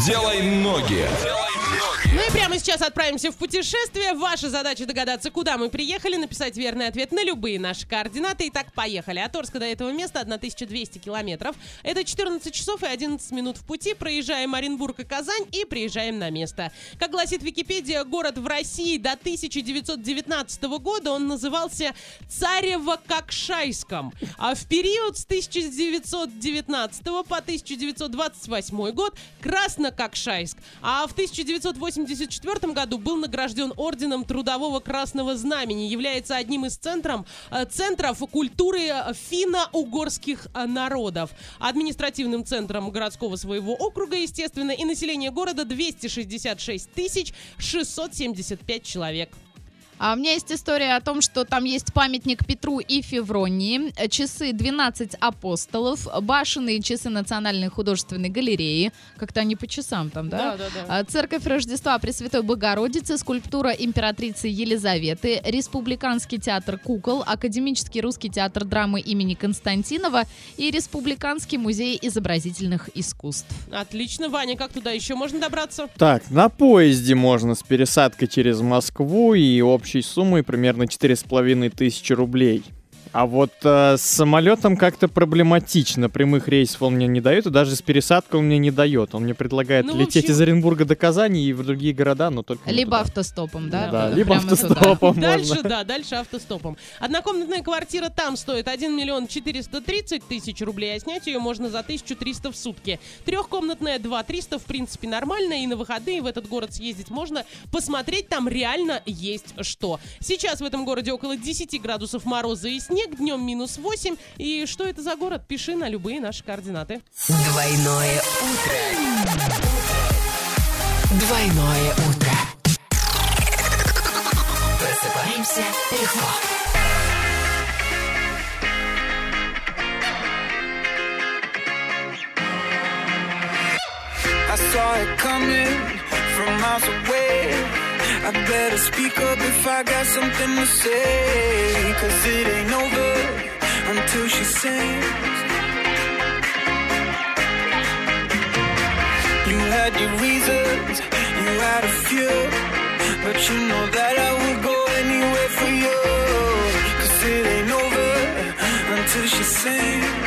Делай ноги. Ну и прямо сейчас отправимся в путешествие. Ваша задача догадаться, куда мы приехали, написать верный ответ на любые наши координаты. Итак, поехали. От Орска до этого места 1200 километров. Это 14 часов и 11 минут в пути. Проезжаем Оренбург и Казань и приезжаем на место. Как гласит Википедия, город в России до 1919 года он назывался Царево-Кокшайском. А в период с 1919 по 1928 год Красно-Кокшайск. А в 1984 году был награжден орденом Трудового Красного Знамени. Является одним из центров культуры финно-угорских народов. Административным центром городского своего округа, естественно, и население города 266 675 человек. А у меня есть история о том, что там есть памятник Петру и Февронии, часы 12 апостолов, башенные часы Национальной художественной галереи. Как-то они по часам там, да? Да. Церковь Рождества Пресвятой Богородицы, скульптура императрицы Елизаветы, Республиканский театр кукол, Академический русский театр драмы имени Константинова и Республиканский музей изобразительных искусств. Отлично. Ваня, как туда еще можно добраться? Так, на поезде можно с пересадкой через Москву и общей суммой примерно 4500 рублей. А вот с самолетом как-то проблематично. Прямых рейсов он мне не дает, и даже с пересадкой он мне не дает. Он мне предлагает лететь из Оренбурга до Казани и в другие города, но только либо автостопом, да? Да, либо автостопом можно. Дальше автостопом. Однокомнатная квартира там стоит 1 430 000 рублей, а снять ее можно за 1300 в сутки. Трехкомнатная 2300, в принципе, нормально, и на выходные в этот город съездить можно, посмотреть там реально есть что. Сейчас в этом городе около 10 градусов мороза и снег, днем -8. И что это за город? Пиши на любые наши координаты. Двойное утро. Двойное утро. Просыпаемся легко. I saw it coming from miles away. I better speak up if I got something to say. 'Cause it ain't over until she sings. You had your reasons, you had a few, but you know that I would go anywhere for you. 'Cause it ain't over until she sings.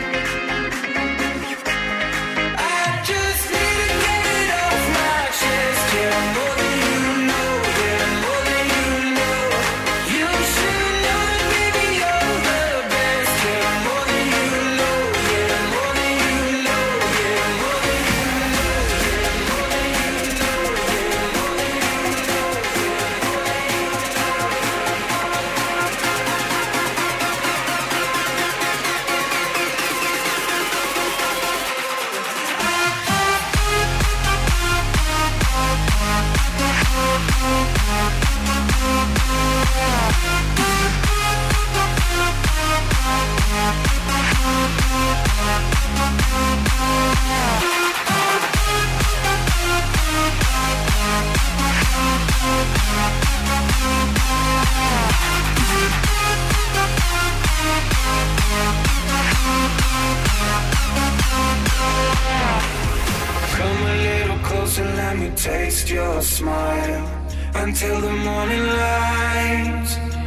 Let me taste your smile until the morning light.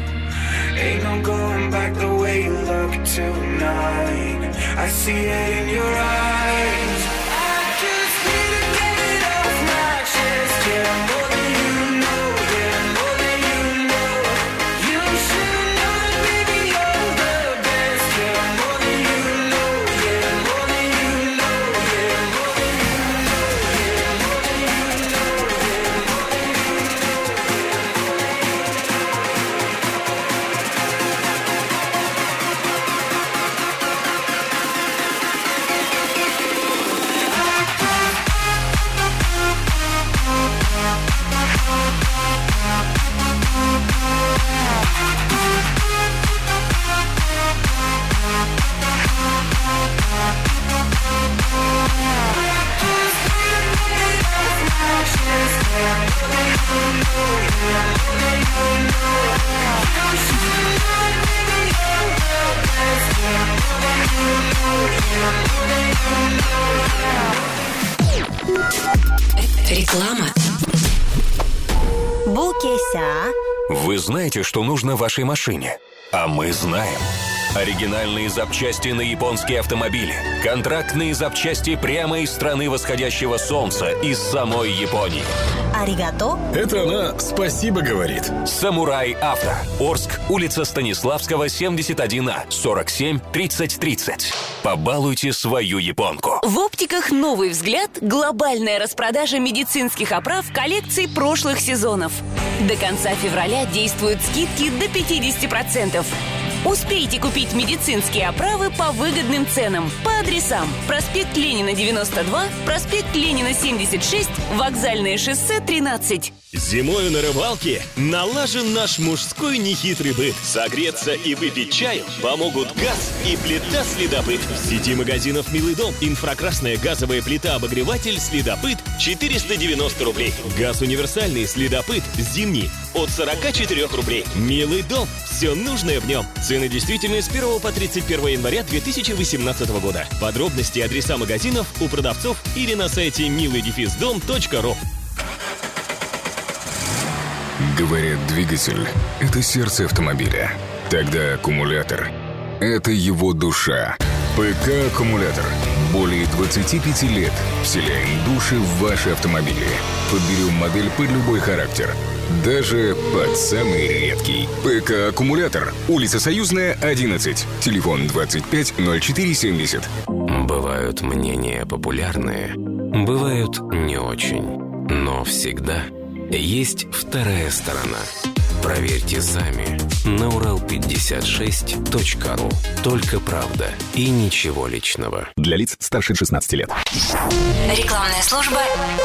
Ain't no going back the way you look tonight. I see it in your eyes. I just need to get it off my chest. Yeah, more than you know. Yeah, more than you know. You should know that, baby, you're the best. Yeah, more than you know. Yeah, more than you know. Yeah, more than you know. Yeah, more than you know. Yeah. Реклама. Букеся. Вы знаете, что нужно вашей машине? А мы знаем. Оригинальные запчасти на японские автомобили. Контрактные запчасти прямо из страны восходящего солнца, из самой Японии. Аригато. Это она спасибо говорит. Самурай Авто. Орск, улица Станиславского, 71А, 47 30 30. Побалуйте свою японку. В оптиках «Новый взгляд» глобальная распродажа медицинских оправ коллекций прошлых сезонов. До конца февраля действуют скидки до 50%. Успейте купить медицинские оправы по выгодным ценам. По адресам: проспект Ленина, 92, проспект Ленина, 76, Вокзальное шоссе, 13. Зимою на рыбалке налажен наш мужской нехитрый быт. Согреться и выпить чаю помогут газ и плита «Следопыт». В сети магазинов «Милый дом» инфракрасная газовая плита-обогреватель «Следопыт» 490 рублей. Газ универсальный «Следопыт» зимний от 44 рублей. «Милый дом» – все нужное в нем. Цены действительны с 1 по 31 января 2018 года. Подробности и адреса магазинов у продавцов или на сайте milый-дом.ру. Говорят, двигатель – это сердце автомобиля. Тогда аккумулятор – это его душа. ПК-аккумулятор. Более 25 лет вселяем души в ваши автомобили. Подберем модель под любой характер. Даже под самый редкий. ПК-аккумулятор. Улица Союзная, 11. Телефон 25 04 70. Бывают мнения популярные, бывают не очень. Но всегда есть вторая сторона. Проверьте сами на Урал56.ру. Только правда и ничего личного. Для лиц старше 16 лет. Рекламная служба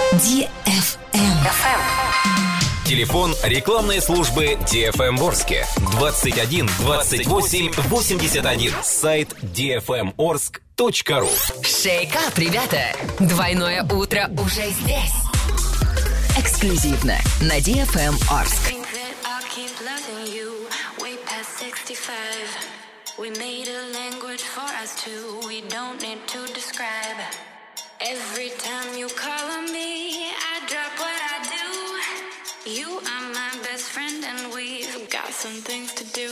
DFM. Телефон рекламной службы DFM в Орске 21 28 81. Сайт dfmorsk.ru. Шейкап, ребята! Двойное утро уже здесь. Эксклюзивно на DFM Орск. We made a language for us two. We don't need to describe. Every time you call on me, I drop what I do. You are my best friend and we've got some things to do.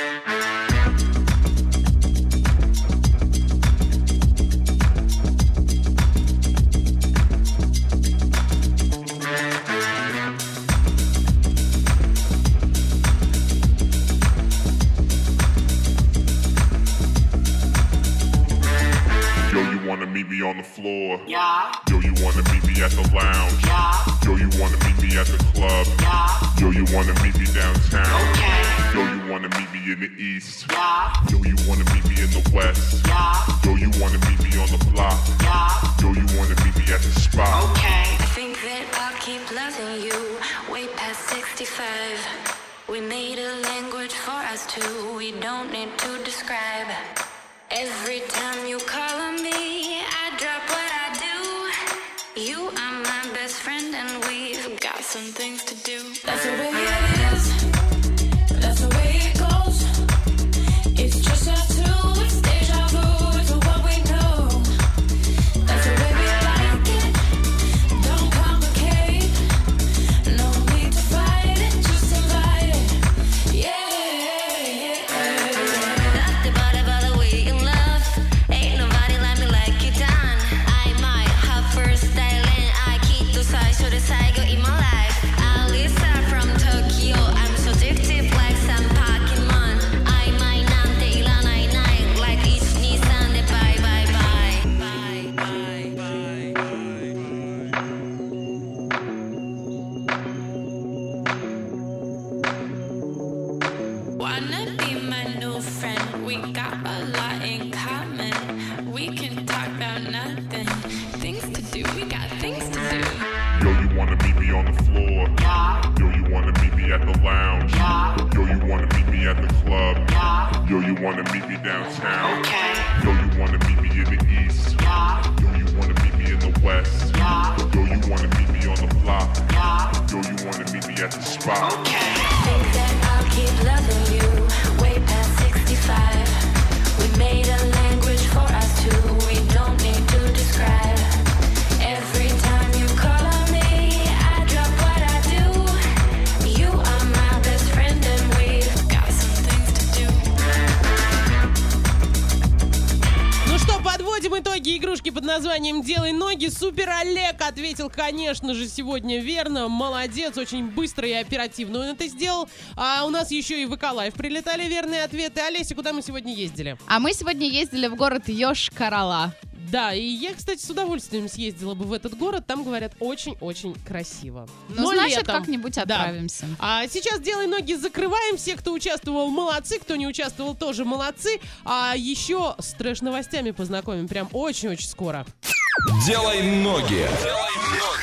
Wanna meet me on the floor? Yeah. Yo, you wanna meet me at the lounge? Yeah. Yo, you wanna meet me at the club? Yeah. Yo, you wanna meet me downtown? Okay. Yo, you wanna meet me in the east? Yeah. Yo, you wanna meet me in the west? Yeah. Yo, you wanna meet me on the block? Yeah. Yo, you wanna meet me at the spot? Okay. I think that I'll keep loving you way past 65. We made a language for us two. We don't need to describe. Every time you call on me, I drop what I do. You are my best friend and we've got some things to do. That's the way it is. That's the way it goes. It's just us two. It's deja vu to what we know. That's the way we like it. Don't complicate. No need to fight it. Just invite it. Yeah. Yo, you wanna meet me downtown? Okay. Yo, you wanna meet me in the east? Yeah. Yo, you wanna meet me in the west? Yeah. Yo, you wanna meet me on the block? Yeah. Yo, you wanna meet me at the spot? Okay. Think that I'll keep loving you way past 65. We made a language for us two. We don't need to describe. Every time you call on me, Подводим итоги игрушки под названием «Делай ноги». Супер Олег ответил, конечно же, сегодня верно. Молодец, очень быстро и оперативно он это сделал. А у нас еще и в ВК-лайв прилетали верные ответы. Олеся, куда мы сегодня ездили? А мы сегодня ездили в город Йошкар-Ола. Да, и я, кстати, с удовольствием съездила бы в этот город. Там, говорят, очень-очень красиво. Ну, Но значит, летом. как-нибудь отправимся. Да. А сейчас «Делай ноги» закрываем. Все, кто участвовал, молодцы. Кто не участвовал, тоже молодцы. А еще с трэш-новостями познакомим. Прям очень-очень скоро. Делай ноги. Делай ноги.